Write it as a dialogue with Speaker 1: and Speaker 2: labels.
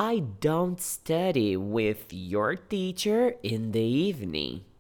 Speaker 1: I don't study with your teacher in the evening.